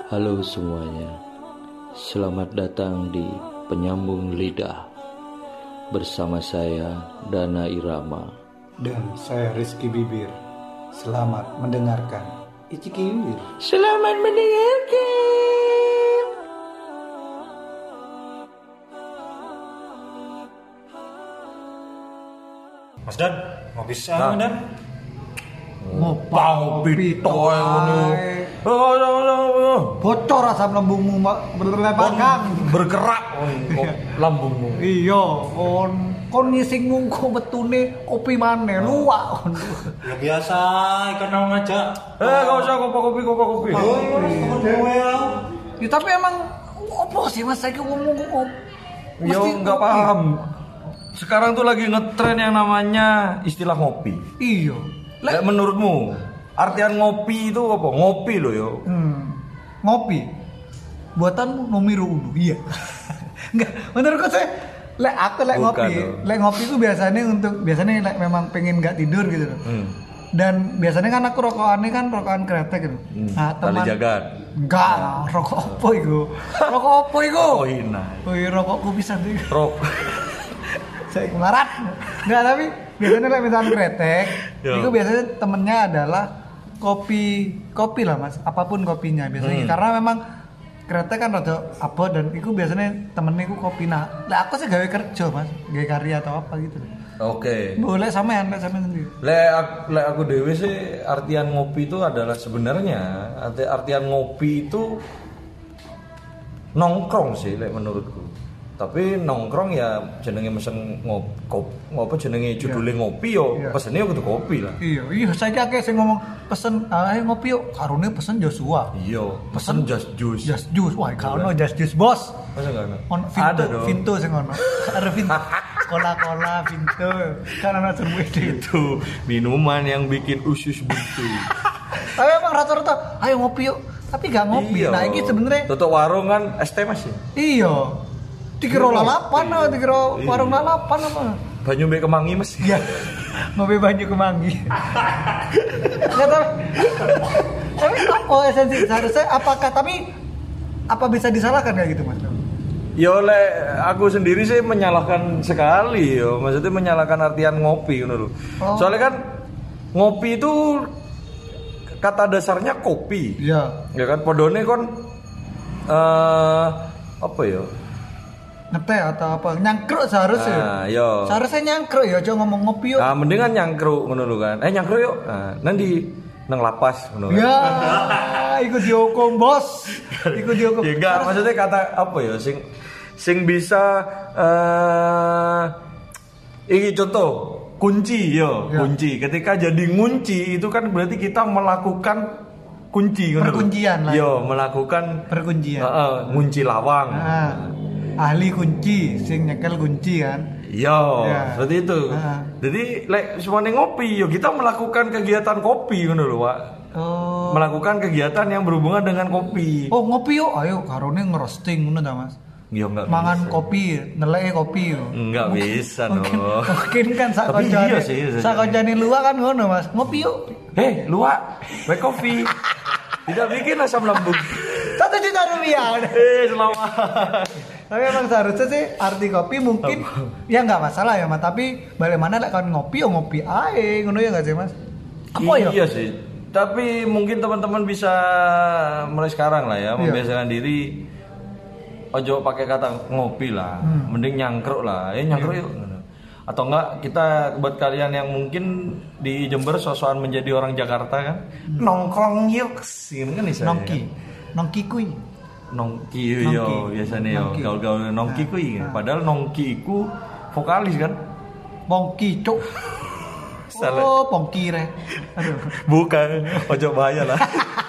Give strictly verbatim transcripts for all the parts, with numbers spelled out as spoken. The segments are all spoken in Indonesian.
Halo semuanya, selamat datang di Penyambung Lidah. Bersama saya Dana Irama dan saya Rizky Bibir. Selamat mendengarkan. Iciki Bibir. Selamat mendengarkan. Mas Dan, ngopi sama Dan. Ngopi toy ngono. Oh, oh, oh. Bocor asam lambungmu mak berlebakan. Bergerak kok lambungmu. Iya, kon kon ngisingmu kok betune kopi maneh luwak. Ya biasa, ikan mau ngajak. Eh, enggak usah kopi-kopi kopi-kopi. Oh, dewe ya. Ya tapi emang opo sih Mas saiki ngomong kok. Yo enggak paham. Sekarang tuh lagi ngetren yang namanya istilah ngopi. Iya. Lek menurutmu artian ngopi itu apa? Ngopi loh yo. Hmm. Ngopi. Buatanmu nomor uno. Iya. Enggak, menurutku saya lek aku lek ngopi, dong. lek ngopi itu biasanya untuk biasanya lek memang pengen enggak tidur gitu loh. Hmm. Dan biasanya kan aku rokokannya kan rokokan kretek gitu. Hmm. Nah, Tali teman jagat. enggak, rokok apa iku? Rokok apa iku? Oh hina. Oh iya, rokokku bisa tuh. Rok. Saya kemarat. Enggak, tapi biasanya lek misalkan kretek, Yo. itu biasanya temennya adalah kopi kopi lah Mas, apapun kopinya biasanya. Hmm. Karena memang kretek kan rada abot dan itu biasanya temennya itu kopi. Nah, lah aku sih gawe kerja Mas, gawe karya atau apa gitu. Oke. Boleh sampean, lek sampean sendiri. Lek aku, lek aku dewe sih artian ngopi itu adalah sebenarnya arti, artian ngopi itu nongkrong sih lek menurutku. Tapi nongkrong ya jenenge mesen ngop, kop, ngopo jenenge judule ngopi yo, Iya. pesene yo kudu kopi lah. Iya, iya saiki akeh sing ngomong pesen ae ngopi yuk, karone pesen Joshua. Iya, pesen just juice. Just juice, wah kalau just juice bos. Masa enggak ada? On Vinto, Ada dong. Vinto sing ono. Ada Vinto. Cola-cola Vinto. Kan ana semua itu. Itu minuman yang bikin usus buntu. Tapi emang rata-rata ayo ngopi yuk. Tapi gak ngopi. Iya. Nah, ini sebenarnya tutup warung kan es teh Mas ya. iya. Dikira lalapan, ah, dikira Iya. warung lalapan apa? Banyu mbek kemangi Mas. Iya. Ngopi banyu kemangi. Nggak tahu. Tapi apa esensi seharusnya apakah tapi apa bisa disalahkan kayak gitu Mas? Yo le aku sendiri sih menyalahkan sekali yo. Maksudnya menyalahkan artian ngopi ngono lho. Oh. Soalnya kan ngopi itu kata dasarnya kopi. Iya. Ya kan podone kon eh apa ya? Ngeteh atau apa? Nyangkruk seharusnya. Nah, yo. Seharusnya nyangkruk ya, aja ngomong ngopi yuk. Nah, mendingan nyangkruk ngono lho kan. Eh nyangkruk yuk. Nah, nanti nang lapas ngono. Ya, ikut dihukum bos. Ikut dihukum. Ya enggak, maksudnya kata apa ya sing sing bisa eh ini contoh kunci yo, Ya. kunci. Ketika jadi ngunci itu kan berarti kita melakukan kunci ngono lho. Perkuncian lah. Yo, melakukan Perkuncian. heeh, ngunci lawang. Nah, ahli kunci, sing nyekel kunci kan. Yo, Ya. seperti itu. Ah. Jadi lek semuanya ngopi, yo kita melakukan kegiatan kopi ngono lho, Pak. Oh. Melakukan kegiatan yang berhubungan dengan kopi. Oh, ngopi yuk. Ayo karone ngerosting ngono ta, Mas. Yo enggak Mangan bisa. kopi, neleke kopi yo. Enggak bisa Mungkin, dong. mungkin kan sak Tapi kancane. iya sih, iya. Sak kancane luak kan ngono, Mas. Ngopi yuk. Hei, luak, baik kopi. Tidak bikin asam lambung. Satu juta rupiah. Eh, selamat. Tapi emang seharusnya sih arti kopi mungkin ya nggak masalah ya Mas. Tapi bagaimana lek kan ngopi ya ngopi ae ngono ya nggak sih Mas? Apa ya? Iya sih. Tapi mungkin teman-teman bisa mulai sekarang lah ya, Iya. membiasakan diri. Ojo pakai kata ngopi lah, Hmm. mending nyangkruk lah. Eh nyangkruk Iya. yuk. Atau enggak kita buat kalian yang mungkin di Jember sosokan menjadi orang Jakarta kan, nongkrong yuk, sini kan bisa. Nongki. Nongki kui. Nongki yo Nongki. biasanya yo Nongki. gaul-gaul nongki Nah, kuwi. nah. Padahal nongki iku vokalis kan. Pongki cuk. Salah. Oh, pongki re. Aduh. Bukan, ojo bahaya lah.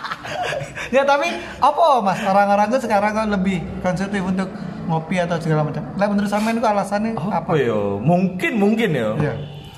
Ya tapi apa Mas? Orang-orang tuh sekarang kan lebih konstruktif untuk ngopi atau segala macam. Lah menurut sampean itu alasannya apa? Apa yo? Mungkin mungkin yo. Iya.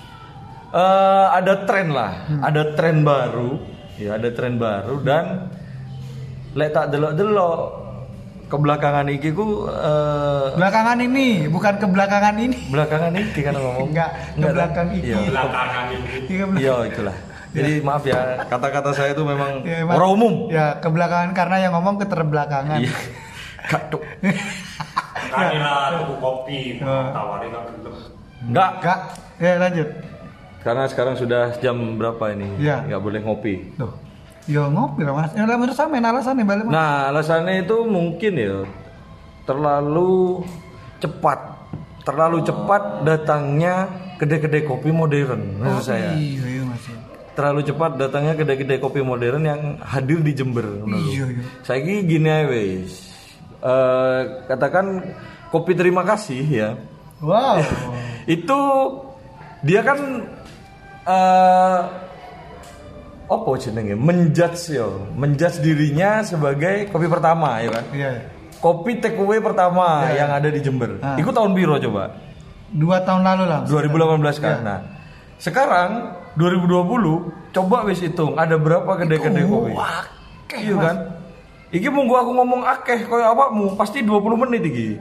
Eh, ada tren lah, Hmm. ada tren baru, ya ada tren baru dan lek tak delok-delok kebelakangan iki ku eh, Belakangan ini, bukan kebelakangan ini. belakangan iki kan ngomong. Enggak, ke belakang iki. Iya, Iya, belakang. iya itulah. Jadi maaf ya, kata-kata saya itu memang Ya, emang- orang umum. Ya, kebelakangan karena yang ngomong keterbelakangan. Iya. Kak, Cuk. Kanilah tuku kopi, Oh. tawarin aku gelem. Enggak. Enggak. Ya, lanjut. Karena sekarang sudah jam berapa ini? Iya. Nggak boleh ngopi. Tuh. Ya ngopi lah Mas. Ya menurut saya main alasan nih balik Mas. Nah, alasannya itu mungkin ya terlalu cepat. Terlalu cepat datangnya kedai-kedai kopi modern menurut saya. Iya, iya Mas. Terlalu cepat datangnya kedai-kedai kopi modern yang hadir di Jember. menurut. Iya, iya. Saya gini aja wes. Eh, katakan kopi terima kasih ya. Wow. Itu dia kan eh apa jenenge menjudge yo, menjudge dirinya sebagai kopi pertama ya kan. Iya. Kopi take away pertama Iya. yang ada di Jember. Ah. Itu tahun biru coba. Dua tahun lalu lah. dua ribu delapan belas kan. Iya. Nah, sekarang dua ribu dua puluh coba wis hitung ada berapa kedai-kedai kopi. Wah, akeh, Iya Mas. kan? Iki munggu aku ngomong akeh koyo awakmu pasti dua puluh menit iki.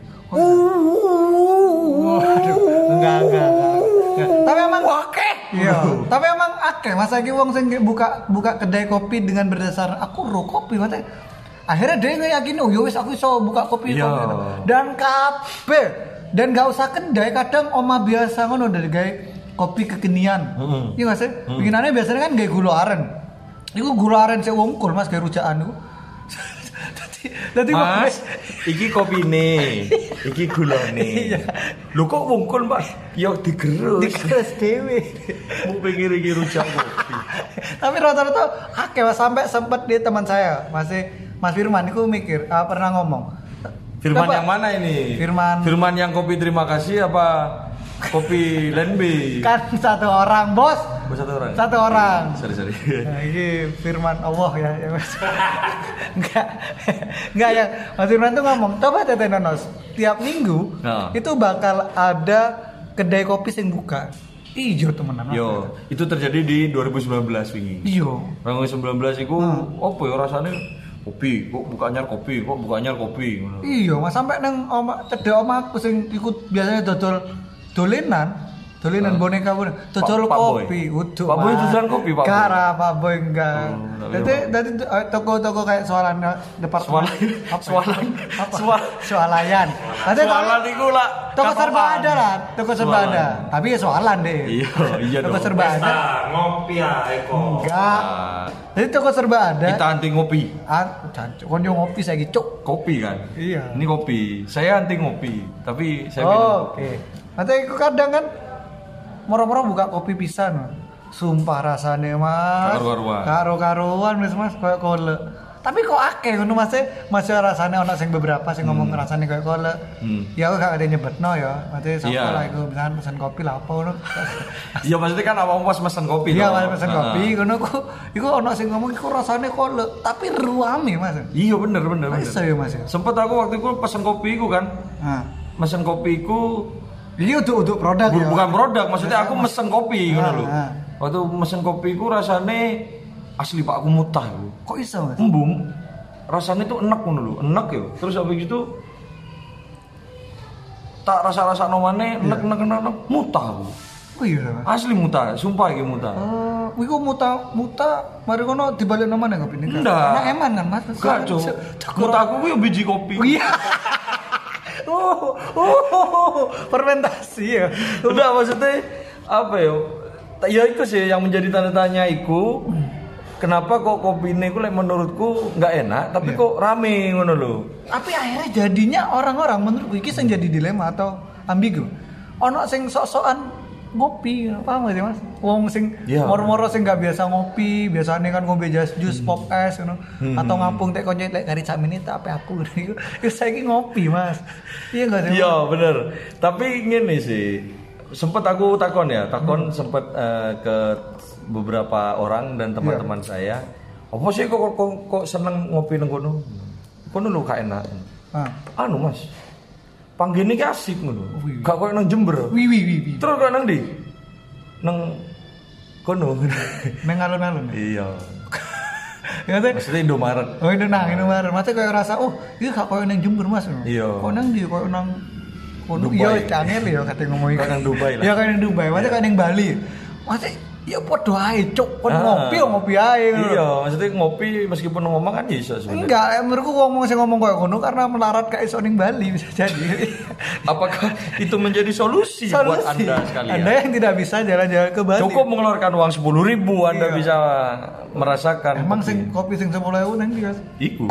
Waduh, enggak, enggak, enggak. Tapi emang akeh. Iya, tapi emang akeh masa iki wong sing buka buka kedai kopi dengan berdasar aku ro kopi maksudnya. Akhirnya dia ngeyakini oh ya wis aku iso buka kopi Iya. kopi. Dan kabeh dan gak usah kedai kadang oma biasa ngono dari gawe kopi kekinian. Heeh. Iya Mas. Bikinannya biasanya kan gawe gula aren. Iku gula aren sing wungkul Mas gawe rujakan iku. Dadi dadi Mas, iki kopine, iki gulane. Iya. Lho kok wungkul, Mbak? Ya digerus. dikeres dhewe. Mau pikir iki rujak kopi. Tapi rata-rata akeh Mas sampai sempet di teman saya masih Mas Firman itu mikir ah, pernah ngomong. Firman Coba- yang mana ini? Firman. Firman yang kopi terima kasih apa kopi Lenbi? Kan satu orang bos. Oh, satu orang. Satu orang. Sorry sorry. Nah, ini Firman Allah ya, ya Mas. Enggak. Enggak ya. Mas Firman tuh ngomong, coba Tete Nonos, tiap minggu Nah. itu bakal ada kedai kopi sing buka. Ijo temenan. Mas. Yo, itu terjadi di dua ribu sembilan belas wingi. Ijo. dua ribu sembilan belas iku Hmm. opo ya rasane kopi, kok bukanya kopi, kok bukanya kopi ngono. Iya, Mas sampai nang oma cedek oma aku sing ikut biasanya dodol dolenan, dolenan boneka boneka, dodol Pak- Pak Boy. kopi, udah. Pak Boy dodolan kopi, Pak Boy? Gara Pak Boy enggak. Oh, enggak Jadi lihat, dari eh, toko-toko kayak soalan departemen Soalan- apa? soalan- apa? soal- Soalayan. Nanti Soalan iku lah. toko serba kapan? ada lah, toko serba Soalan. ada. Tapi ya soalan deh. Iya, iya Toko dong. serba ada. Nah, ngopi ya Eko. Enggak. Ah, Jadi toko serba ada. kita anti ngopi. Ah, jancuk. Kon yo ngopi saiki, Cuk. Kopi kan? Iya. Ini kopi. Saya anti ngopi, tapi saya minum Oh, kopi. oke. Nanti aku kadang kan moro-moro buka kopi pisan. Sumpah rasane Mas. Karo-karuan. Karo-karuan Mas Mas koyo kole. Tapi kok akeh ngono Mas e? Mas e rasane ono sing beberapa sing ngomong rasane koyo kole. Hmm. Ya aku gak ada nyebutno ya. Nanti sapa Iya. lah iku misalkan pesen kopi lah apa ngono. Iya maksudnya kan awak pas mesen kopi. Iya, toh. Mas pesen Ah. kopi ngono ku iku ono sing ngomong iku rasane kole, tapi ruame Mas. Iya bener bener bener. Iso ya Mas. ya? Sempet aku waktu itu pesen kopi ku kan, Nah. mesen kopi ku Iki untuk untuk produk bu- ya. bukan produk, maksudnya aku mesen kopi ngono Ah, lho. ah. Waktu mesen kopi ku rasane asli Pak aku mutah ku. Kok iso Mas? Embung. Rasanya tuh enak ngono lho, enak ya. Terus habis itu tak rasa-rasa nomane enak enak enak enak, mutah aku. Oh iya Mas. Asli mutah, sumpah iki mutah. Oh, iku muta muta mari kono dibalik nama nang kopi ini. Ndak. Karena eman kan Mas. Enggak, Cuk. Mutah aku ku yo biji kopi. Oh iya. Oh, oh, fermentasi ya. Udah maksudnya apa ya? Ya itu sih yang menjadi tanda tanya iku. Kenapa kok kopi ini ku like, menurutku nggak enak, tapi Iya. kok rame ngono lho. Tapi akhirnya jadinya orang-orang menurutku iki sing jadi dilema atau ambigu. Ono sing sok-sokan ngopi, paham gak sih Mas? Wong sing Iya. moro-moro sing gak biasa ngopi, biasanya kan ngombe jas jus pop es ngono. Atau ngapung tek konco lek kari sakmene tak ape aku iku. Iku saiki ngopi, Mas. Iya gak sih? Iya bener. Tapi ngene sih, sempet aku takon ya, takon sempet eh, ke beberapa orang dan teman-teman saya. Apa sih kok, kok, kok, kok seneng ngopi nang kono? Kono lho gak enak. Ah. Anu Mas, panggene ki asik ngono. Wih. Gak koyo nang Jember. Wi wi wi wi. Terus kok nang ndi? Nang kono. Nang alun-alun. Iya. Ya teh. Maksudnya Indomaret. Oh itu nang Indomaret. Masa kayak rasa oh, iki gak koyo nang Jember Mas. Iya. Kok nang ndi koyo nang kono Dubai. iya canggih ya kate ngomongin. Kayak nang Dubai lah. Iya kayak nang Dubai. Masa kayak nang Bali. Masa Ya podo ae cuk, kon Ah. ngopi yo ngopi ae. Iya, maksudnya ngopi meskipun ngomong kan bisa sebenarnya. Enggak, eh, menurutku ngomong sing ngomong koyo ngono karena melarat kayak iso ning Bali bisa jadi. Apakah itu menjadi solusi, buat Anda sekalian? Anda yang tidak bisa jalan-jalan ke Bali. Cukup mengeluarkan uang sepuluh ribu Anda Iya. bisa merasakan. Emang kopi. sing kopi sing sepuluh ribu nang ndi, Mas? Iku.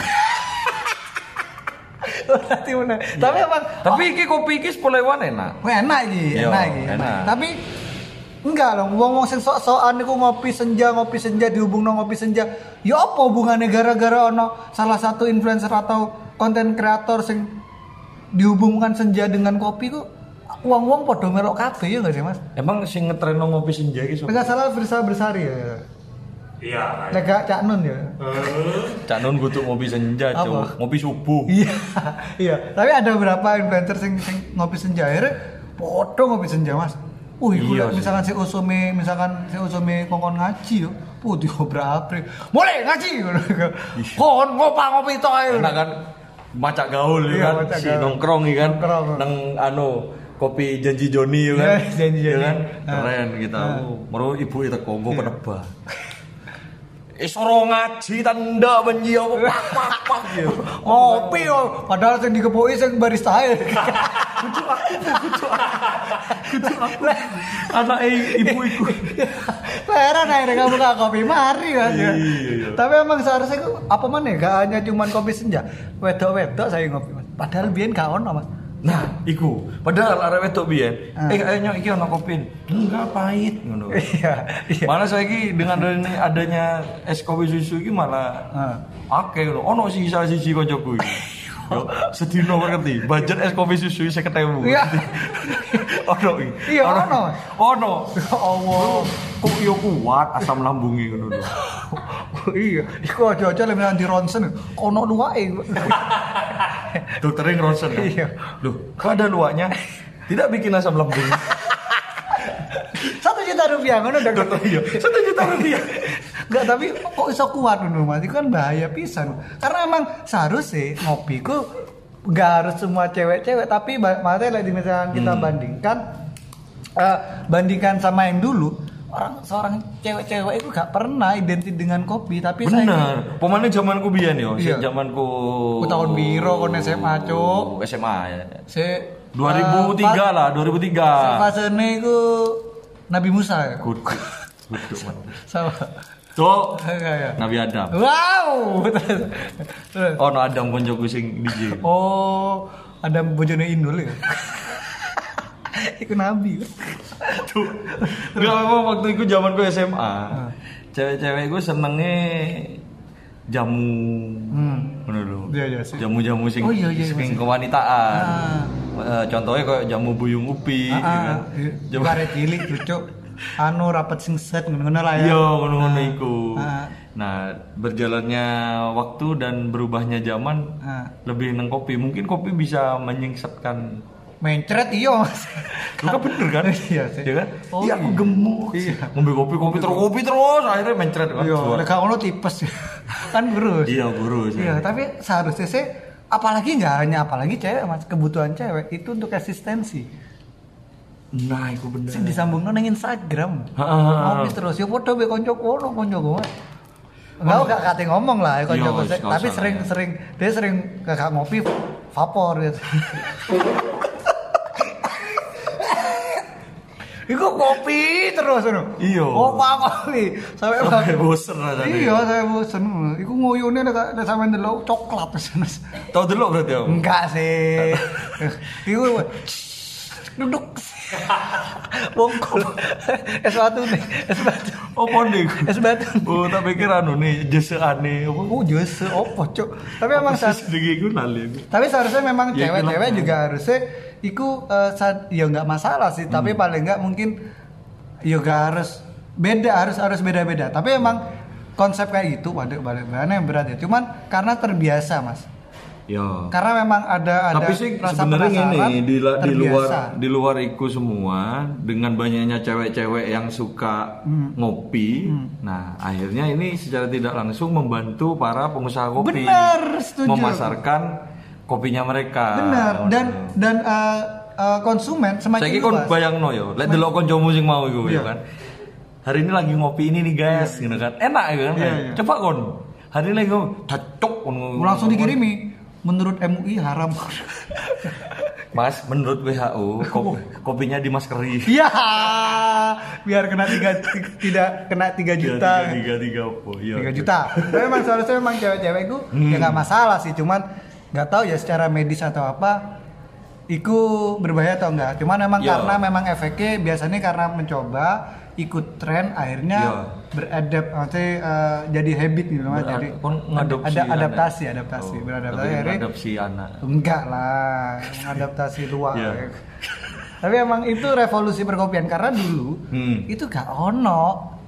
Berarti bener. Tapi emang Tapi iki kopi iki sepuluh ribuan enak. wah, enak iki, Iya, enak iki. enak. Tapi enggak loh, wong-wong sing sok-sokan niku ngopi senja, ngopi senja dihubungno ngopi senja. Ya apa hubungannya gara-gara ono salah satu influencer atau konten kreator sing dihubungkan senja dengan kopi ku wong-wong padha melok kabeh ya enggak sih, Mas? Emang sing ngetrenno ngopi senja iki sapa? Enggak salah Firsa Bersari ya. Iya. Lega Cak Nun ya. Eh, Cak Nun kudu ngopi senja, Apa? Cuk. Ngopi subuh. Iya, iya. Tapi ada beberapa influencer sing, sing ngopi senja akhirnya podo ngopi senja, Mas. Uh, iku Iya lek sih. misalkan si Usome, misalkan si Usome kongkon ngaji yo. Putih obrak-abrik. Mulai ngaji ngono. Kon ngopa ngopi tok ae. Enak kan macak gaul ya Iya, kan, macak si gaul. nongkrong ya kan, Nongkrong. nang anu kopi janji Joni ya kan, Iya, Janji Ya Joni. kan? Ah. Keren kita, Ah. oh, meru ibu itu kongko penebak. Eh soro ngaji tanda benji apa pak pak pak gitu. Ngopi yo, padahal sing dikepoki sing barista ae. Anak ibu iku. Heran akhirnya kamu gak kopi mari Mas. ya. Iya. Tapi emang seharusnya ku- apa mana gak hanya cuman kopi senja. Wedok-wedok saya ngopi Mas. Padahal biyen gak ono Mas. Nah, iku. Padahal arek wedok biyen, Ah. eh ayo nyok iki ono kopi. Enggak pahit ngono. Iya, iya. Malah saiki dengan adanya, adanya es kopi susu iki malah Ah. akeh ngono. Ono sisa siji kancaku iki. Yo, sedino ngerti, budget es kopi susu seket ribu. Iya. Ono iki. Iya, ono. Ono. Ya Allah. Kok yo kuat asam lambunge ngono lho. Iya, iku aja-aja lek nang di ronsen ono luwake. Dokternya ngeronsen kan? Iya. Loh, kok ada luaknya? Tidak bikin asam lambung. Satu juta rupiah ngono udah Dokter iya, satu juta rupiah. Enggak, tapi kok iso kuat ngono Mas? Itu kan bahaya pisan. Karena emang seharusnya ngopi ku enggak harus semua cewek-cewek, tapi ba- maksudnya lagi misalkan kita Hmm. bandingkan eh, bandingkan sama yang dulu, orang seorang cewek-cewek itu gak pernah identik dengan kopi, tapi saya Bener. Pemane zamanku biyen yo, Iya. sing zamanku Ku tahun biro kon S M A, Cuk. S M A ya. se dua ribu tiga eh, lah, dua ribu tiga. Fasene iku Nabi Musa ya. Kudu. Kudu man. Sama. Cuk. Enggak ya. Nabi Adam. Wow. Terus. Oh, no Adam koncoku sing D J. Oh, ada bojone Indul ya. Iku nabi. Tuh. Enggak memang waktu itu zamanku S M A. Cewek-cewek gue senenge jamu. Hmm. Ngono lho. Iya, iya sih. Jamu-jamu sing Oh, iya, iya, sing masih. kewanitaan. Ah. Eh, contohnya kayak jamu buyung upi gitu kan. Jamu arek cilik lucu. Anu rapat sing set ngono lah ya. Iya, ngono-ngono iku. Ah. Nah, berjalannya waktu dan berubahnya zaman Ah. lebih neng kopi. Mungkin kopi bisa menyingsatkan. Mencret iya Mas. Lu kan bener kan? Iya sih. Iya kan? Oh, Iya, aku iya. gemuk. Iya. Ngombe kopi, kopi terus, kopi terus, akhirnya mencret kan. Iya, Keluar. lek gak ngono tipes. Kan gurus. Iya, gurus. Iya, tapi seharusnya sih apalagi nggak hanya apalagi cewek Mas, kebutuhan cewek itu untuk eksistensi. Nah, itu bener. Sing disambungno nang Instagram. Ha, ha, ha. Ngopi terus ya padha be kancaku ono kancaku. Enggak gak kate ngomong lah ya kancaku, Iya, tapi usah sering-sering dia sering gak ngopi vapor gitu. Iku kopi terus ngono. Iya. Oh, Pak kopi. Sampai Sampai bosen rasanya. Iya, saya bosen. Iku nguyune nek nek sampe ndelok coklat terus. Tahu dulu berarti aku. Enggak sih. Iku duduk. Bongkol. Es batu nih, es batu. Oh, pondek. Es batu. Oh, tak pikir anu nih, jese aneh apa? Oh, jose opo, Cuk. Tapi emang Apa sa- sih sedikit gue nali. tapi seharusnya memang Ya, cewek-cewek itulah. juga harusnya iku eh, sa- ya nggak masalah sih, tapi paling nggak mungkin ya nggak harus beda, harus harus beda-beda. Tapi emang konsep kayak gitu pada balik yang berat ya. Cuman karena terbiasa, Mas. Ya. Karena memang ada ada Tapi sih rasa sebenarnya penasaran, ini di, la- di luar terbiasa. di luar itu semua dengan banyaknya cewek-cewek yang suka Hmm. ngopi. Nah, akhirnya ini secara tidak langsung membantu para pengusaha kopi Benar, setuju. memasarkan kopinya mereka. Benar, dan dan eh, eh, konsumen semakin Saiki kon luas. bayangno yo, lek delok kancamu sing mau iku Iya. ya kan. hari ini lagi ngopi ini nih guys, gitu kan. Enak ya kan. Iya, iya. Coba kon. Hari ini lagi ngopi, cocok kon. Langsung dikirimi. Menurut M U I haram. Mas, menurut W H O kopi, kopinya dimaskeri. Iya. Biar kena tiga tidak kena tiga juta. tiga tiga apa? Iya. tiga juta. Tapi memang seharusnya memang cewek-cewek itu Hmm. ya nggak masalah sih, cuman nggak tahu ya secara medis atau apa itu berbahaya atau enggak. Cuman memang Yo. karena memang efeknya biasanya karena mencoba ikut tren akhirnya Yo. beradap maksudnya uh, jadi habit gitu mas. Berad- Jadi kon ngadopsi ada anak. adaptasi, adaptasi, Oh, beradaptasi lebih akhirnya ngadopsi anak. enggak lah, adaptasi luar. Iya. Tapi emang itu revolusi perkopian karena dulu Hmm. itu gak ono.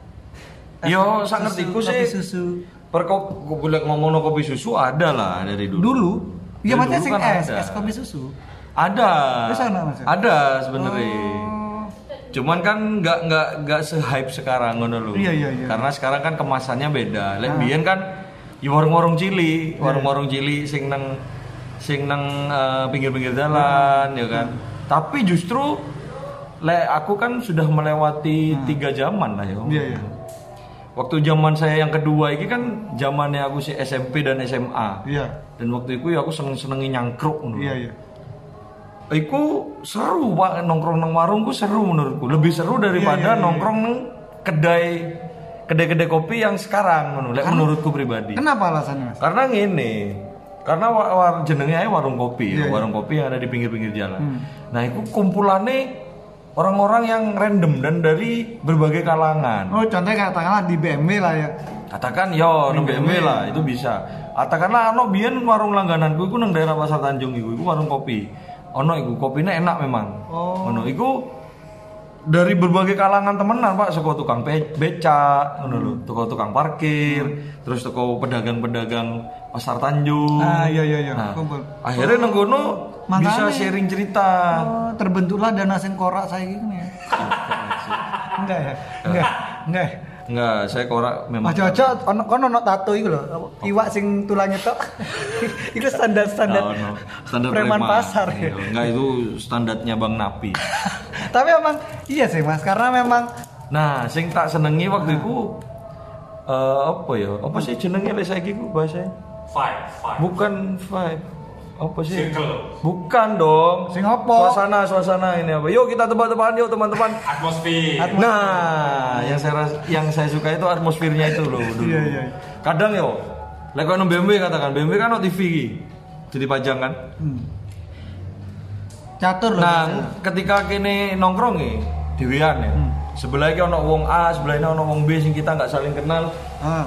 Yo, Susu, sak ngertiku kopi sih. susu. Perkop boleh ngomong kopi susu ada lah dari dulu. Dulu, iya Dari maksudnya dulu sing kan es, ada. es kopi susu. Ada. Terus ana, Mas? Ada sebenarnya. Oh. Cuman kan nggak nggak nggak se-hype sekarang ngono lho. Iya, iya, iya. Karena sekarang kan kemasannya beda. Lek Ah. biyen kan ya warung-warung cili, Iya. warung-warung cili sing nang sing nang eh, pinggir-pinggir jalan ya kan. Tapi justru lek aku kan sudah melewati tiga zaman lah ya. Ah. Iya, iya. Waktu zaman saya yang kedua ini kan zamannya aku si S M P dan S M A. Iya. Dan waktu itu ya aku seneng-senengi nyangkruk ngono. Iya, iya. Iku seru pak, nongkrong nang warung ku seru menurutku. Lebih seru daripada Iya, iya, iya. nongkrong nang kedai kedai-kedai kopi yang sekarang menurut menurutku pribadi. Kenapa alasannya mas? Karena ngene, karena war, war, jenenge ae warung kopi, Iya, iya. warung kopi yang ada di pinggir-pinggir jalan. Hmm. Nah, itu kumpulannya orang-orang yang random dan dari berbagai kalangan. Oh contohnya katakanlah di B M W lah ya. Katakan yo nang B M W B M W. lah, itu bisa. Katakanlah ono biyen warung langgananku iku nang daerah Pasar Tanjung iku, iku warung kopi. Ono iku kopine enak memang. Oh. Ono iku dari berbagai kalangan temenan Pak, saka tukang be- becak, ngono lho, tukang-tukang parkir, terus toko pedagang-pedagang Pasar Tanjung. Ah, iya, iya, iya. Nah, Kumpul. akhirnya nang kono bisa Makanya- sharing cerita. Oh, terbentuklah dana sengkorak saya gini ya. Enggak ya? Enggak. Enggak. Enggak, saya korak memang. Mas Jojo ono kono ono tato iku lho. Iwak sing tulangnya tok. Iku standar-standar Oh, no. Standar preman preman. pasar Iya, ya. enggak itu standarnya Bang Napi. Tapi emang iya sih Mas, karena memang Nah, sing tak senengi waktu itu eh, apa ya? Apa sih jenenge lek saiki ku bahasa? Five, five. Bukan vibe. Apa sih? Circle. Bukan dong. Sing apa? Suasana, suasana ini apa? Yuk kita tebak-tebakan yuk teman-teman. Atmosfer. Nah, yang saya ras- yang saya suka itu atmosfernya itu loh dulu. Iya, iya. Kadang yo, lek kono B M W katakan, B M W kan ono T V iki. Jadi pajang kan. hmm. catur loh. Nah, biasanya. ketika kene nongkrong nih, dhewean ya. Hmm. Sebelah iki ono wong A, sebelah ini ono wong B sing kita nggak saling kenal. Ah,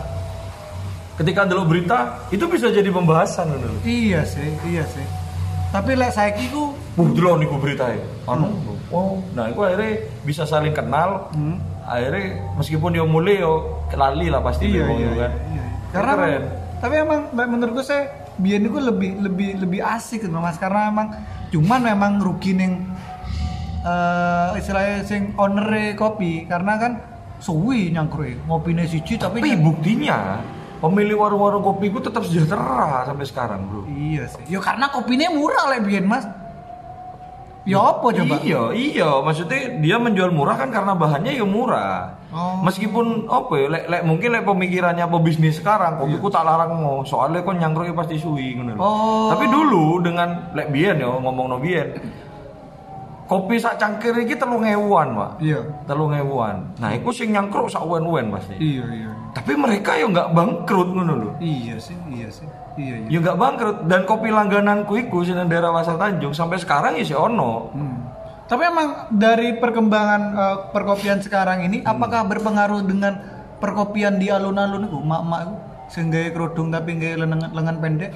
Ketika delok berita, itu bisa jadi pembahasan ngono lho. iya sih, iya sih. Tapi lek saiki ku Wuh, delok niku beritae. Anu, oh, nah iku akhirnya bisa saling kenal. hmm. Akhirnya meskipun dia mulai yo lali lah pasti iya, wong iya, itu kan. iya, iya. Karena Keren. emang- tapi emang menurutku saya biyen itu lebih lebih lebih asik gitu Mas, karena emang cuman memang rugi ning eh istilahnya sing owner kopi karena kan suwi nyangkruk ngopine siji tapi Tapi nyang- buktinya pemilik warung-warung kopi ku tetap sejahtera sampai sekarang, Bro. iya sih. Ya karena kopinya murah lah biyen Mas. Ya apa coba? Iya, iya, maksudnya dia menjual murah kan karena bahannya ya murah. Oh. Meskipun apa ya, lek, lek mungkin lek pemikirannya pebisnis sekarang, kopiku tak larang mau, soalnya kon nyangkruknya pasti suwi ngono lho. Oh. Tapi dulu dengan lek biyen ya ngomong no biyen. Kopi sak cangkir iki telung ewuan, Pak. Iya. Telung ewuan. Nah, iku sing nyangkruk sak wen-wen pasti. Iya, iya. Tapi mereka ya nggak bangkrut ngono lho. Iya sih, iya sih. Iya, iya. Ya nggak bangkrut dan kopi langgananku iku sing nang daerah Pasar Tanjung sampai sekarang ya sih ono. Hmm. Tapi emang dari perkembangan eh, perkopian sekarang ini Hmm. apakah berpengaruh dengan perkopian di alun-alun itu, mak-mak itu sing gawe kerudung tapi gawe lengan, lengan pendek?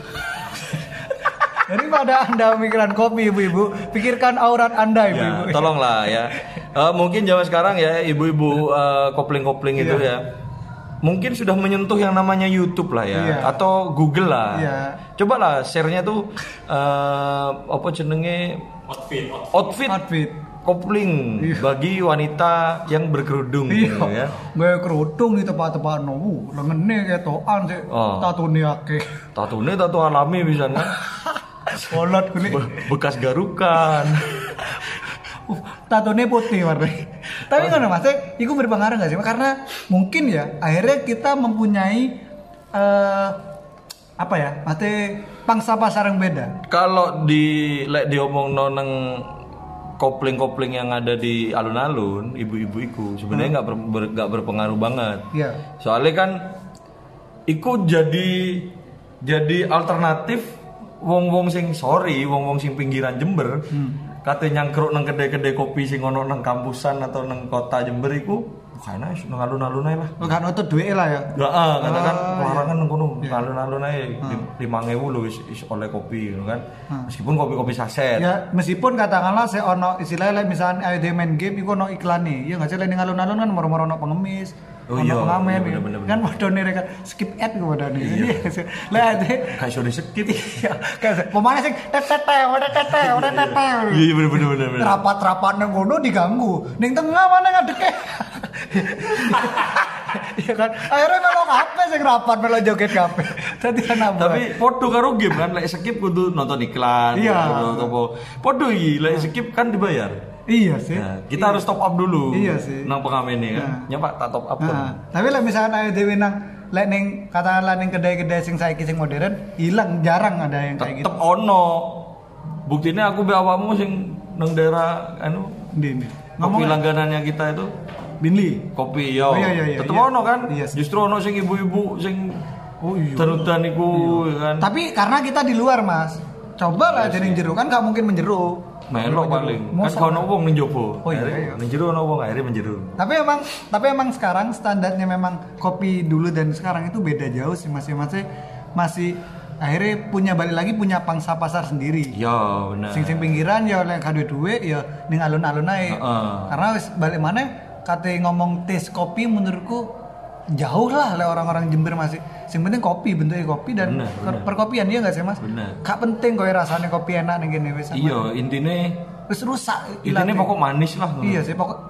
Daripada Anda mikiran kopi ibu-ibu, pikirkan aurat Anda Ya, ibu-ibu. tolonglah ya. Eh, mungkin zaman sekarang ya ibu-ibu eh, kopling-kopling itu Iya. ya. Mungkin sudah menyentuh yang namanya YouTube lah ya Iya. atau Google lah. Iya. Coba lah share-nya tuh eh, apa jenenge Outfit, outfit. outfit Outfit. kopling Iya. bagi wanita yang berkerudung gitu Iya. ya. Gawe kerudung di tempat-tempat no, lengene ketokan sih, Oh. tatune akeh. Tatune tato alami bisa kan. Kolot kulit. Be- bekas garukan. Tatune putih warnanya. Tapi ngono Mas, iku berpengaruh enggak sih? Karena mungkin ya akhirnya kita mempunyai uh, apa ya? Mate pangsa pasar yang beda. Kalau di lek diomong nang kopling-kopling yang ada di alun-alun, ibu-ibu iku sebenarnya nggak hmm. ber, ber, berpengaruh banget. Iya. Soalnya kan iku jadi jadi alternatif wong-wong sing sorry, wong-wong sing pinggiran Jember. Hmm. Kate nyangkruk nang kedai-kedai kopi sing ono nang kampusan atau nang kota Jember iku kayaknya nang alun-alun ae lah. Oh, kan otot duwe lah ya. Heeh, katakan oh, larangan nang kono, iya. alun-alun ae lima ribu lho wis oleh kopi gitu kan. Hmm. Meskipun kopi-kopi saset. Ya, meskipun katakanlah saya ono istilahnya misalnya ayo main game iku ono iklane. Ya enggak sih ning alun-alun kan moro-moro ono pengemis. Oh iya, pengamen bener, bener, kan modone kan skip ad ku modone. Iya. Lah ade kayak sudah skip. Iya. Kayak pemain sing tetete, tetete, tetete. Iya bener bener bener. Rapat-rapat nang ngono diganggu. Ning tengah mana ngadeke. Iya kan. Akhirnya melo kabeh sing rapat melo joget kabeh. Dadi ana. Tapi podo karo game kan lek skip kudu nonton iklan. Iya. Atau podo iki lek skip kan dibayar. Iya sih. Nah, kita iya. harus top up dulu. Iya sih. Nang pengamen ini kan. Nah. Ya Pak, tak top up kan. Nah, tapi lah misalkan ayo dhewe nang lek ning katakanlah ning kedai-kedai sing saiki sing modern, hilang jarang ada yang kayak gitu. Tetep ono. Buktinya aku be awakmu sing nang daerah anu Ndi kopi langganannya kita itu Binli. kopi yo. Oh, iya, iya, iya, Tetep iya. ono kan? Iya, Justru ono sing ibu-ibu sing oh iya. terutan iku iya. kan. Tapi karena kita di luar, Mas. Coba lah jadi jero kan gak mungkin menjero. Melok paling. Kan kalau ono wong ning jowo. Oh iya, iya. Ning jero ono wong akhirnya menjero. Tapi emang tapi emang sekarang standarnya memang kopi dulu dan sekarang itu beda jauh sih masih masih masih akhirnya punya balik lagi punya pangsa pasar sendiri. Ya benar. Sing sing pinggiran ya oleh kadue duwe ya ning alun-alun ae. Uh-uh. Karena wis balik mana kate ngomong tes kopi menurutku jauh lah oleh orang-orang Jember masih. Sing penting kopi, bentuknya kopi dan bener, bener. perkopian dia enggak sih Mas? Bener. Gak penting koyo rasanya kopi enak ning kene wis. Iya, intine wis rusak. Intine pokok manis lah. Iya sih pokok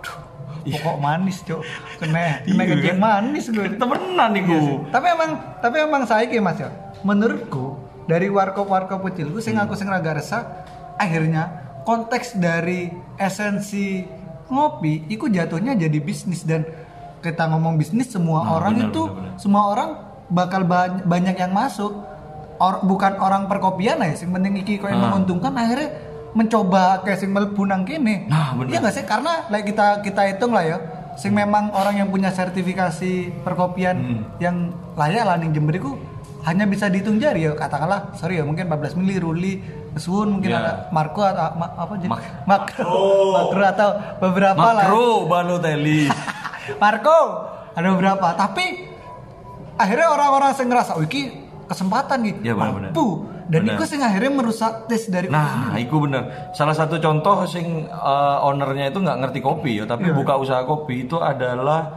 pokok manis, Cuk. Kena kena Iya, kencing kan? manis gue. Temenan iku. Iya sih. Tapi emang tapi emang saiki Mas ya. Menurutku dari warkop-warkop kecilku sing aku sing raga resah akhirnya konteks dari esensi ngopi itu jatuhnya jadi bisnis dan kita ngomong bisnis semua Nah, orang bener, itu bener, bener. semua orang bakal ba- banyak yang masuk. Or, bukan orang perkopian ya sing penting iki koyo Ah. menguntungkan akhirnya mencoba kayak sing mlebu nang kene. Nah, bener. Iya enggak sih? Karena like kita kita hitung lah ya. Sing memang orang yang punya sertifikasi perkopian Hmm. yang layak lah ning Jember iku hanya bisa dihitung jari ya katakanlah sorry ya mungkin empat belas mili Ruli Suwun mungkin Ya. ada Marco atau ma- apa jadi Mak- Makro Makro atau beberapa lah Makro Balotelli. Marco ada beberapa tapi akhirnya orang-orang yang ngerasa oh iki kesempatan gitu Ya, bener-bener. mampu dan Bener. itu sing akhirnya merusak tes dari Nah, itu bener. Salah satu contoh sing uh, ownernya itu nggak ngerti kopi ya, tapi Iya. buka usaha kopi itu adalah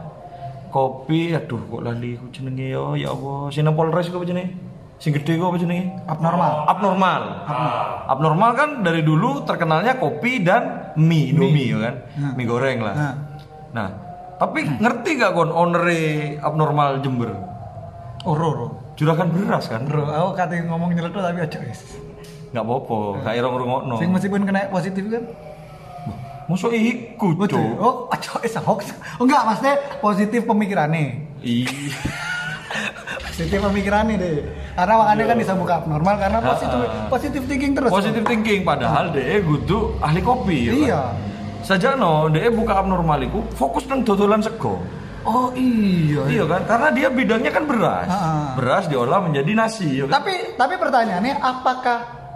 kopi. Aduh, kok lali ku jenenge yo, ya Allah. Sing nang Polres ku apa jenenge? Sing gede ku apa jenenge? abnormal. Abnormal. Abnormal kan dari dulu terkenalnya kopi dan mie, Indomie ya kan? Nah. Mie goreng lah. Nah. Nah, tapi ngerti gak kon owner Abnormal Jember? Oro oro. Juragan beras kan? Bro, aku kate ngomong nyeletuk tapi aja wis. Nggak apa-apa, kayak orang rungokno. Sing meskipun kena positif kan. Masuk iku, Betul. Cuk. Oh, aja wis hoax. Oh enggak, maksudnya positif pemikirannya. Iya. Positif pemikirannya deh. Karena makanya kan bisa buka abnormal karena positif positif thinking terus. Positive thinking padahal dia kudu ahli kopi ya. Iya. Sajano dia buka abnormal iku fokus nang dodolan sego. Oh iya. Iya kan? Karena dia bidangnya kan beras. Ah. Beras diolah menjadi nasi ya kan? Tapi tapi pertanyaannya apakah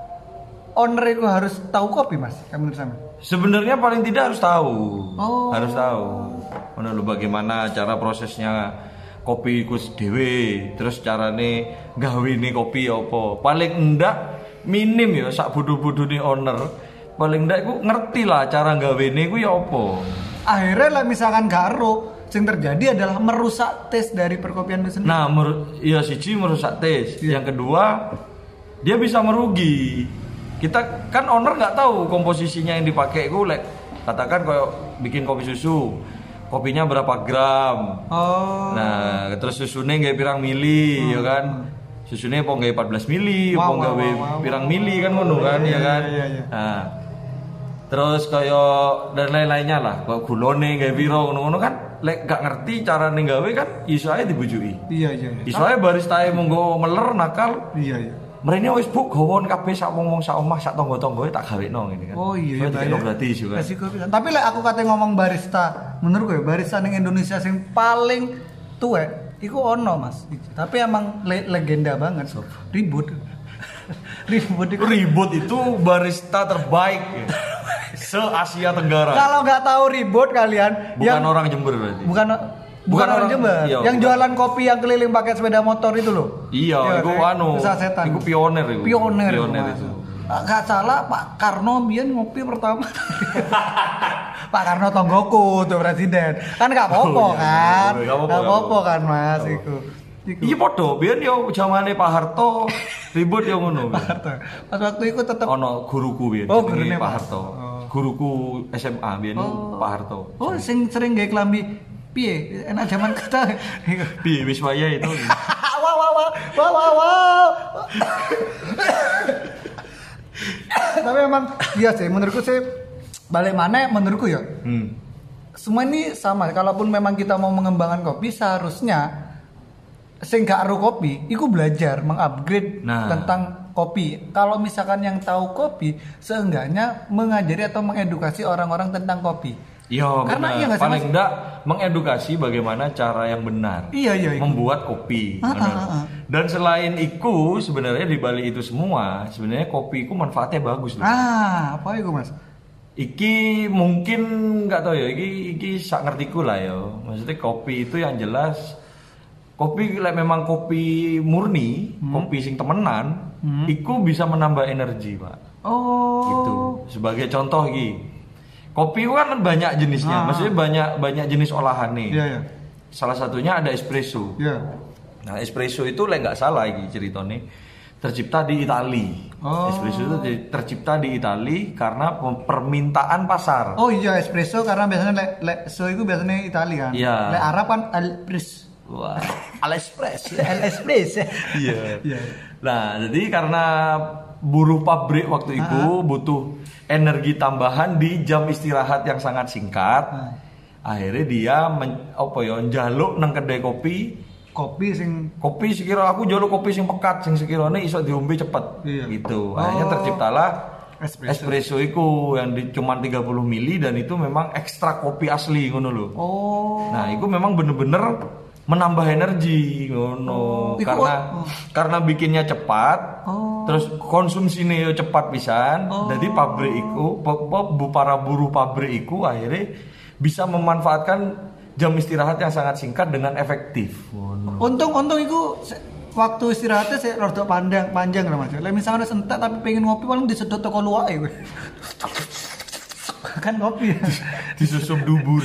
owner itu harus tahu kopi, Mas? Kamu menurut saya? Sebenarnya paling tidak harus tahu. Oh. Harus tahu. Mana lu bagaimana cara prosesnya kopi iku dhewe, terus carane gawene kopi apa. Paling enggak minim ya sak bodoh-bodone owner. Paling enggak iku ngerti lah cara gawene iku ya apa. Akhirnya lah misalkan garo yang terjadi adalah merusak tes dari perkopian itu sendiri. Nah, mer- ya siji merusak tes. Iya. Yang kedua, dia bisa merugi. Kita kan owner nggak tahu komposisinya yang dipakai itu, like, katakan kayak bikin kopi susu, kopinya berapa gram. Oh. Nah, terus susunya nggak pirang mili, ya kan? Susunya mau nggak empat belas mili, Wow, mau nggak wow, wow, wow, pirang wow. mili kan ngono kan, Iya, ya kan? iya, iya, iya. Nah, Terus kaya dan lain-lainnya lah, kok gulone gawe piro ngono-ngono kan lek gak ngerti carane gawe kan iso ae dibujuki. Iya iya. iya. Iso ae baristae monggo meler nakal. Iya iya. Mrene wis buk gawon kabeh sak wong-wong sak omah sak tangga-tanggae tak gawekno ngene kan. Oh iya iya. Itu gratis juga. Resiko pisan. Tapi lek aku kate ngomong barista, menurutku ya barista ning Indonesia sing paling tuwek iku ono Mas. Tapi emang le- legenda banget. Ribut. Ribut itu. Ribut itu barista terbaik se Asia Tenggara. Kalau nggak tahu ribut kalian, Bukan yang orang Jember berarti. bukan bukan, Bukan orang orang- Jember, iya, yang bukan. jualan kopi yang keliling pakai sepeda motor itu loh. Iya, itu kayak anu. usaha setan. Itu pioner itu. Pioner, Pioner Mas. itu. Ah, Gak salah Pak Karno biyen ngopi pertama. Pak Karno tonggoku tuh presiden. Kan gak apa-apa Oh, iya, kan. iya, iya, Gak gak apa-apa apa-apa. kan Mas iku. Iku. Iya podo, biyen yo zamane Pak Harto ribut yo ngono. Pas waktu itu tetap Ono guruku biyen. Oh, jenenge gurune Pak Pak. Harto. Oh. Guruku S M A biyen Oh. Pak Harto. Oh, sing sering gawe klambi piye? Enak zaman kita. Piye wis waya itu. Wow wow wow wow wow wow. Tapi emang iya sih menurutku sih balik mana menurutku ya. Hmm. Semua ini sama. Kalaupun memang kita mau mengembangkan kopi seharusnya sing gak aru kopi, iku belajar mengupgrade Nah. tentang kopi. Kalau misalkan yang tahu kopi, seenggaknya mengajari atau mengedukasi orang-orang tentang kopi. Iya, Karena benar. iya nggak sih, Paling Mas? enggak mengedukasi bagaimana cara yang benar Iya, iya, iku. membuat kopi. Ah, benar. ah, ah. Dan selain itu sebenarnya di balik itu semua, sebenarnya kopi itu manfaatnya bagus loh. Ah, apa itu Mas? Iki mungkin nggak tahu ya, iki iki sak ngertiku lah ya. Maksudnya kopi itu yang jelas kopi like memang kopi murni, kopi sing temenan, iku bisa menambah energi, Pak. Oh. Gitu. Sebagai contoh iki. Kopi kan banyak jenisnya, Ah. maksudnya banyak banyak jenis olahan nih. Iya, iya. Salah satunya ada espresso. Iya. Nah, espresso itu lah nggak salah iki ceritanya tercipta di Itali. Oh. Espresso itu di- tercipta di Itali karena pem- permintaan pasar. Oh iya espresso karena biasanya le, le so itu biasanya Italia kan. Iya. Le Arab kan Alpres. Wah, Aliexpress. Alpres. Iya. Iya. Nah, jadi karena buruh pabrik waktu itu butuh energi tambahan di jam istirahat yang sangat singkat. Ah. Akhirnya dia men, apa ya njaluk nang kedai kopi. Kopi sing Kopi sekira aku njaluk kopi sing pekat sing sekiranya iso diombe cepet. Iya. Gitu. Oh. Akhirnya terciptalah Espresso. espresso itu yang di cuma tiga puluh mili dan itu memang ekstra kopi asli ngono lho. Oh. Nah, itu memang bener-bener menambah energi ngono Oh, iku- karena oh. karena bikinnya cepat. Oh. Terus konsumsinya yo cepat pisan. Oh. Jadi pabrik iku pe- pe- bu- para buruh pabrik iku akhirnya bisa memanfaatkan jam istirahat yang sangat singkat dengan efektif. Ngono. Untung untung itu se- waktu istirahatnya saya rada panjang panjang lah Mas. Lah misalnya sentak tapi pengen ngopi paling disedot toko luwake kowe. Kan kopi. Disusup dubur.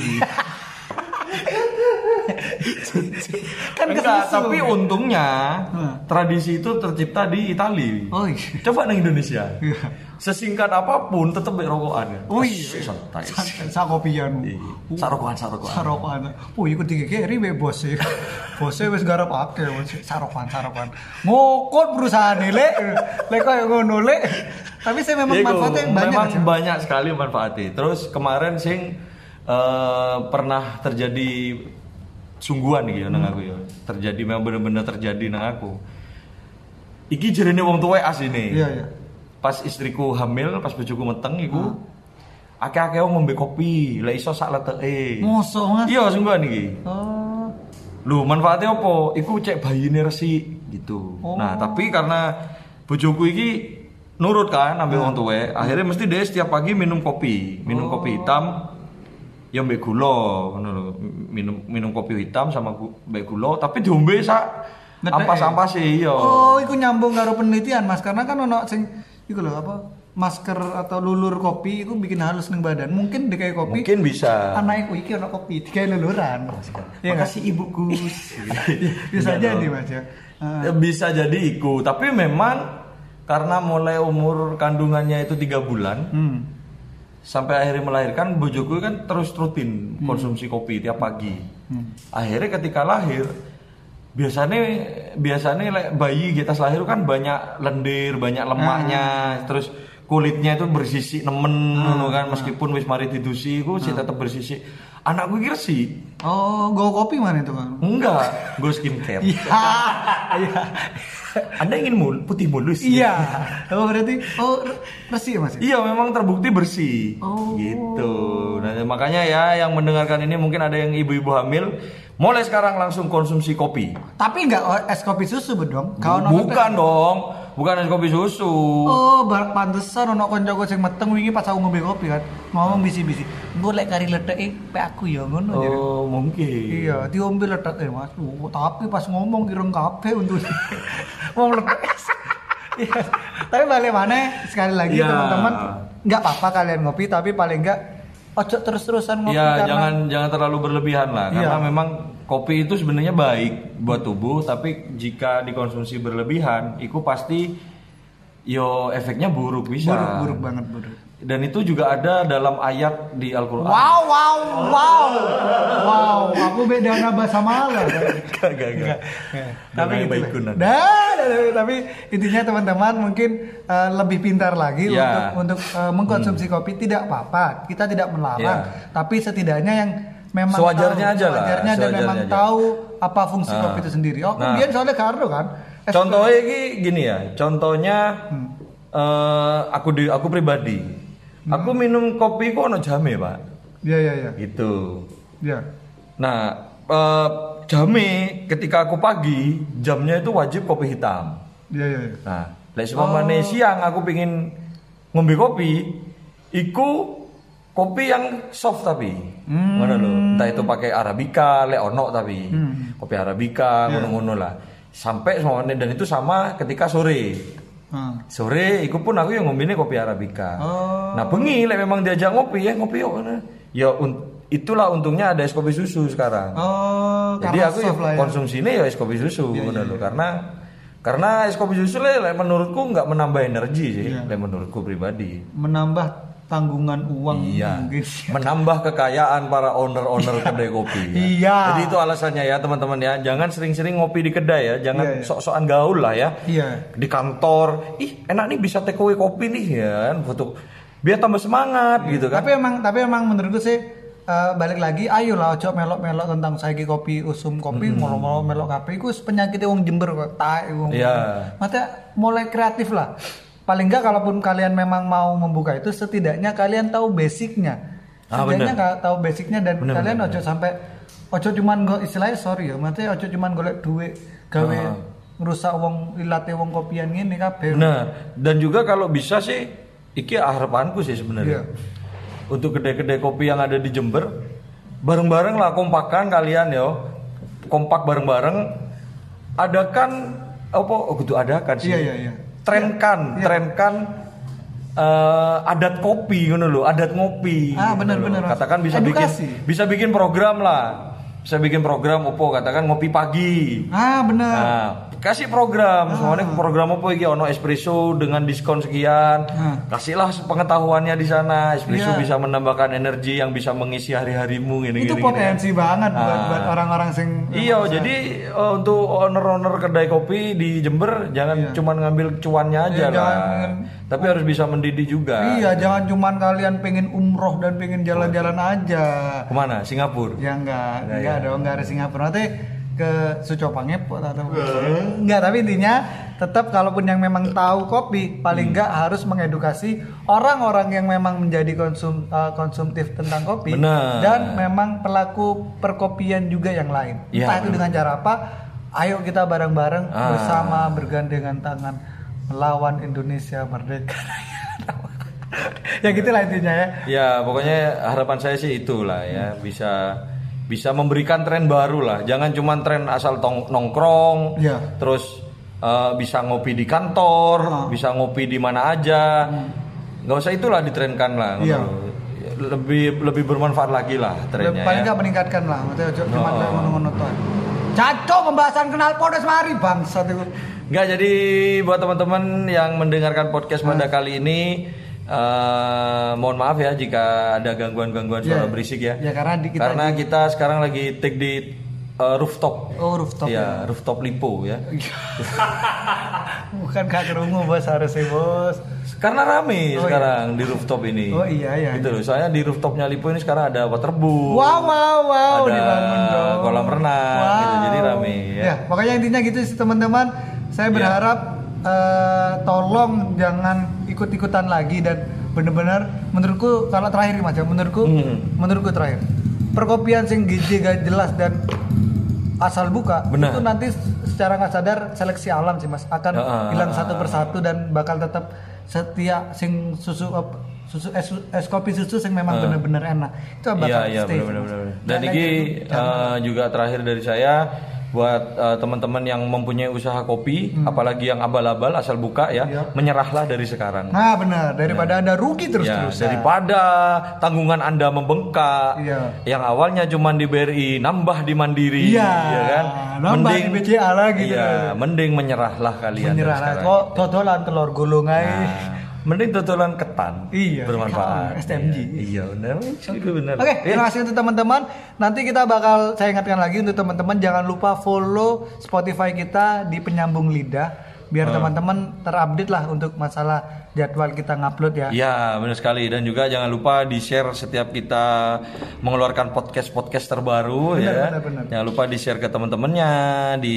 Kan Enggak, kesusu. tapi untungnya Hmm. tradisi itu tercipta di Itali. Oh iya. Coba di Indonesia. Iya. Sesingkat apapun tetap rokokan. Oh iya. Santai. Sa kopian. Iya. Sarokokan, sarokokan. Sarokan. Oh, iku digegeri we bos e. Bose wis garap akeh wis sarokan sarokan. Ngokot perusahaane lek. Lek koyo ngono lek. Tapi saya memang Iku, manfaatnya banyak. memang aja. banyak sekali manfaatnya. Terus kemarin sing eh, pernah terjadi sungguhan nih ya nang aku ya. Terjadi memang bener-bener terjadi nang aku. Iki jerene wong tuwek asline. Iya, iya. Pas istriku hamil, pas bojoku meteng iku akeh-akeh wong ngombe kopi, lek iso sak leteke. Mosok Mas. Iya sungguhan iki. Oh. Lu manfaatnya apa? Iku cek bayine resik gitu. Oh. Nah, tapi karena bojoku iki nurut kan ambil Nah. wong tuwek, akhirnya mesti dia setiap pagi minum kopi, minum Oh. kopi hitam ya mbek gula ngono lho. Minum minum kopi hitam sama gu- mbek gula, tapi diombe sak Ngedek. ampas-ampas sih iya. Oh, iku nyambung karo penelitian Mas karena kan ono sing iku lho apa masker atau lulur kopi iku bikin halus ning badan. Mungkin dikai kopi. Mungkin bisa. Anakku iki ono kopi dikai luluran. Iya nggak? Makasih Ibu Gus. Bisa Enggak jadi dong. Mas ya. Ah. Ya, bisa jadi iku, tapi memang karena mulai umur kandungannya itu tiga bulan Hmm. sampai akhirnya melahirkan, bojoku kan terus rutin konsumsi kopi tiap pagi. Hmm. Akhirnya ketika lahir biasanya biasanya like, bayi kita lahir kan banyak lendir, banyak lemaknya, terus kulitnya itu bersisik nemen ngono kan meskipun wis mari didusi iku sih tetep bersisik. Anakku iki resik. Oh, go kopi mana itu kan? Enggak, gue skincare. Iya. Iya. Anda ingin mul putih mulus? Iya. Oh, berarti oh resik ya Mas? Iya, memang terbukti bersih. Oh. Gitu. Nah, makanya ya yang mendengarkan ini mungkin ada yang ibu-ibu hamil, mulai sekarang langsung konsumsi kopi. Tapi enggak es kopi susu bedong. Bukan dong. Bukan es kopi susu. Oh, bar pantesan ono kancaku sing meteng wingi pas aku ngombe kopi kan. Ngomong bisi-bisi. Engko lek kari ledeke pe aku ya ngono. Oh, mungkin. Iya, diombe ledeke Mas. Oh, tapi pas ngomong ireng kabeh untuk wong ledek. Iya. Tapi balik mana sekali lagi ya. teman-teman, enggak apa-apa kalian ngopi tapi paling enggak ojo terus-terusan ngopi ya, karena jangan jangan terlalu berlebihan lah karena iya. memang kopi itu sebenarnya baik buat tubuh tapi jika dikonsumsi berlebihan itu pasti yo efeknya buruk bisa. Buruk, buruk banget buruk. Dan itu juga ada dalam ayat di Al-Qur'an. Wow, wow, wow. Wow, aku beda bahasa malah. Gak, gak, gak. Tapi gitu gitu. Nah, tapi intinya teman-teman mungkin uh, lebih pintar lagi ya. untuk untuk uh, mengkonsumsi hmm. kopi tidak apa-apa. Kita tidak melarang, ya. tapi setidaknya yang memang sewajarnya tahu, aja lah. sewajarnya dan sewajarnya memang aja. tahu apa fungsi nah. kopi itu sendiri. Oh, nah. kemudian soalnya karo kan. Contohnya ini gini ya. Contohnya hmm. uh, aku di aku pribadi. Hmm. Aku minum kopi kok ono jame, Pak. Iya, iya, iya. Gitu. Iya. Nah, uh, jame ketika aku pagi, jamnya itu wajib kopi hitam. Iya, iya, iya. Nah, lek seumpamane oh. siang aku pengin ngombe kopi, iku kopi yang soft tapi. Hmm. Ngono lho. Entah itu pakai arabica, lek ono tapi. Hmm. Kopi arabica yeah. ngono-ngono lah. Sampai semuanya dan itu sama ketika sore. Hmm. Sore, iku pun aku yang ngombine kopi arabica. Oh. Nah, bengi lek memang diajak ngopi ya ngopi yuk. Ya un- itulah untungnya ada es kopi susu sekarang. Oh, jadi aku ya, ya. konsumsinya ya es kopi susu ya, ya, ya. Karena karena es kopi susu lek menurutku nggak menambah energi sih, ya. Lek menurutku pribadi. Menambah tanggungan uang iya. mungkin. Menambah kekayaan para owner-owner kedai kopi. Ya. Iya. Jadi itu alasannya ya teman-teman ya. Jangan sering-sering ngopi di kedai ya. Jangan iya, iya. sok-sokan gaul lah ya. Iya. Di kantor, ih enak nih bisa take away kopi nih ya. Foto biar tambah semangat iya. gitu kan. Tapi emang tapi emang menurutku sih uh, balik lagi ayolah ojo melok-melok tentang saiki kopi usum kopi mm-hmm. molo-molo melok kafe iku penyakit wong Jember kok tae wong. Iya. Makanya mulai kreatif lah. Paling enggak kalaupun kalian memang mau membuka itu setidaknya kalian tahu basicnya. Setidaknya ah, tahu basicnya dan bener, kalian bener, ojo bener. sampai ojo cuman go istilahnya sorry ya, maksudnya ojo cuman golek duit gawe ah. ngerusak wong ilate wong kopian ngene kabeh. Nah, dan juga kalau bisa sih iki harapanku sih sebenarnya. Yeah. Untuk kedai-kedai kopi yang ada di Jember bareng-bareng lah kompakan kalian yo. Kompak bareng-bareng adakan apa oh kudu adakan sih. Iya iya iya. Trenkan, ya, ya. trenkan uh, adat kopi ngono lho, adat ngopi. Ah, benar-benar. Katakan bisa edukasi. bikin bisa bikin program lah. Bisa bikin program opo katakan ngopi pagi. Ah, benar. Nah, kasih program, ah. semuanya program apa iki ono espresso dengan diskon sekian. Ah. Kasihlah pengetahuannya di sana. Espresso yeah. bisa menambahkan energi yang bisa mengisi hari-harimu gini Itu gini. potensi gini. banget ah. buat, buat orang-orang sing Iya, jadi uh, untuk owner-owner kedai kopi di Jember jangan yeah. cuma ngambil cuannya aja yeah, lah. Jangan, tapi harus bisa mendidik juga. Iya, jangan cuma kalian pengen umroh dan pengen jalan-jalan aja. Kemana? Singapura? Ya enggak, nah, enggak ya. dong, enggak ada Singapura. Nanti ke Sucopa ngepot atau enggak, tapi intinya tetap kalaupun yang memang tahu kopi paling enggak hmm. harus mengedukasi orang-orang yang memang menjadi konsum uh, konsumtif tentang kopi. Benar. Dan memang pelaku perkopian juga yang lain. Ya, entah itu benar. dengan cara apa, ayo kita bareng-bareng ah. bersama bergandengan tangan melawan Indonesia merdeka. Ya gitulah intinya ya. Ya pokoknya harapan saya sih itulah ya, bisa bisa memberikan tren baru lah. Jangan cuma tren asal tong, nongkrong, ya. Terus uh, bisa ngopi di kantor, ah. bisa ngopi di mana aja. Hmm. Nggak usah itulah ditrenkan lah. Ya. Lebih lebih bermanfaat lagi lah trennya. Paling nggak ya. meningkatkan lah. Maksudnya cuma kayak ngono-ngono tuh. Cacok pembahasan kenal podes mari bangsat itu. Enggak, jadi buat teman-teman yang mendengarkan podcast pada hmm. kali ini uh, mohon maaf ya jika ada gangguan-gangguan suara yeah. berisik ya. Ya karena di kita karena di... kita sekarang lagi take di uh, rooftop. Oh, rooftop. Ya, rooftop Lipo ya. Bukan gak kerungu bos harusnya bos. Karena rame Oh, sekarang di rooftop ini. Oh iya iya. Gitu loh. Soalnya di rooftopnya Lipo ini sekarang ada waterboom. Wow wow wow ada dibangun dong. kolam renang Wow. gitu. Jadi rame ya. Ya, pokoknya intinya gitu sih teman-teman. Saya Ya. berharap eh, tolong jangan ikut-ikutan lagi dan bener-bener menurutku kalau terakhir macam menurutku Hmm. menurutku terakhir perkopian sing gizi gak jelas dan asal buka Benar. itu nanti secara nggak sadar seleksi alam sih mas akan Ya, ah, hilang ah, satu ah. persatu dan bakal tetap setia sing susu op- susu es, es kopi susu yang memang Ah. bener-bener enak itu bakal Iya iya stay. benar benar. Dan Dan ini lagi- eh, juga terakhir dari saya buat eh, teman-teman yang mempunyai usaha kopi, apalagi yang abal-abal asal buka ya, Hmm. Iya. menyerahlah dari sekarang. Nah benar daripada anda rugi Ya, terus-terusan. daripada tanggungan Anda membengkak, Iya. yang awalnya cuma di B R I nambah di Mandiri, Iya, ya kan? nambah di B C A lagi Iya, tuh. mending menyerahlah kalian. menyerah dari lah sekarang. kok totolan telur gulung aja. Nah, mending totolan ketan. Iya, bermanfaat. S T M G. Iya, benar. Itu benar. Oke, Eh, terima kasih untuk teman-teman. Nanti kita bakal saya ingatkan lagi untuk teman-teman jangan lupa follow Spotify kita di Penyambung Lidah biar Hmm. teman-teman terupdate lah untuk masalah jadwal kita ngupload ya. Ya benar sekali dan juga jangan lupa di share setiap kita mengeluarkan podcast podcast terbaru Benar, ya. benar, benar. Jangan lupa di share ke teman-temannya di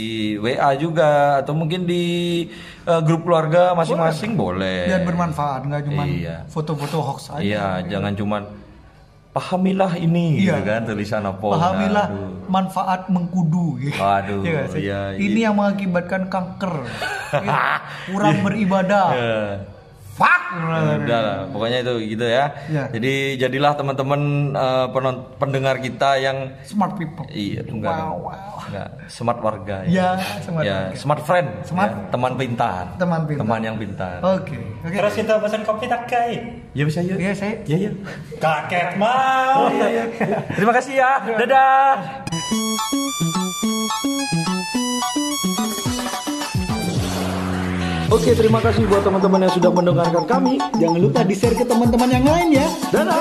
W A juga atau mungkin di eh, grup keluarga masing-masing boleh. Biar bermanfaat, nggak cuma Iya. foto-foto hoax aja. Iya jangan cuman pahamilah ini Iya. gitu kan tulisan apa. Pahamilah Aduh. manfaat mengkudu. Waduh, Iya nggak sih? iya, Ini iya. yang mengakibatkan kanker. Iya. Kurang beribadah. Ya. Fuck. Udah lah, pokoknya itu gitu ya. Ya. Jadi jadilah teman-teman eh, penon- pendengar kita yang Smart people. iya enggak, Wow, wow. enggak smart warga Ya, smart ya, warga. smart friend, Smart. ya, teman pintar, Teman pintar. teman yang pintar. Oke. Oke. Terus kita pesan kopi tak kai. Ya bisa ya. Iya, saya Ya ya. Kakek mau. Terima kasih ya. Dadah. Oke, terima kasih buat teman-teman yang sudah mendengarkan kami. jangan lupa di-share ke teman-teman yang lain ya. Dadah.